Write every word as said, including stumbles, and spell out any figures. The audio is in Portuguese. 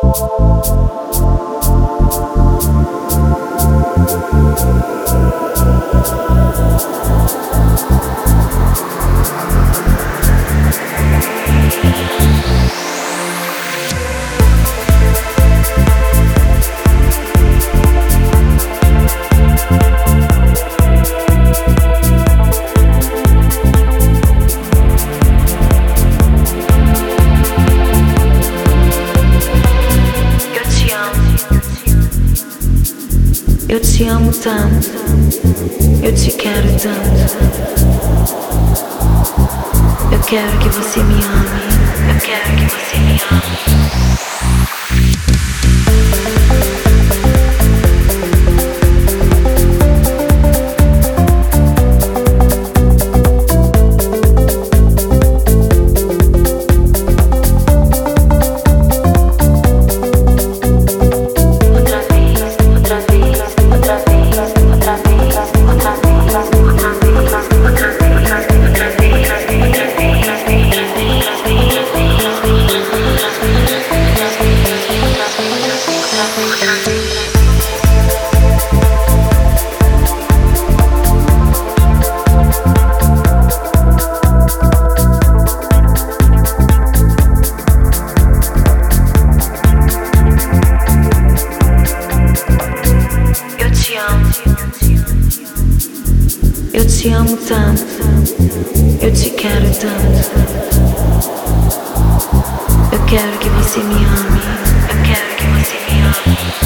Eu te amo tanto, eu te quero tanto. Eu quero que você me ame, eu quero que você me ame. Eu te amo tanto, eu te quero tanto. Eu quero que você me ame, eu quero que você me ame.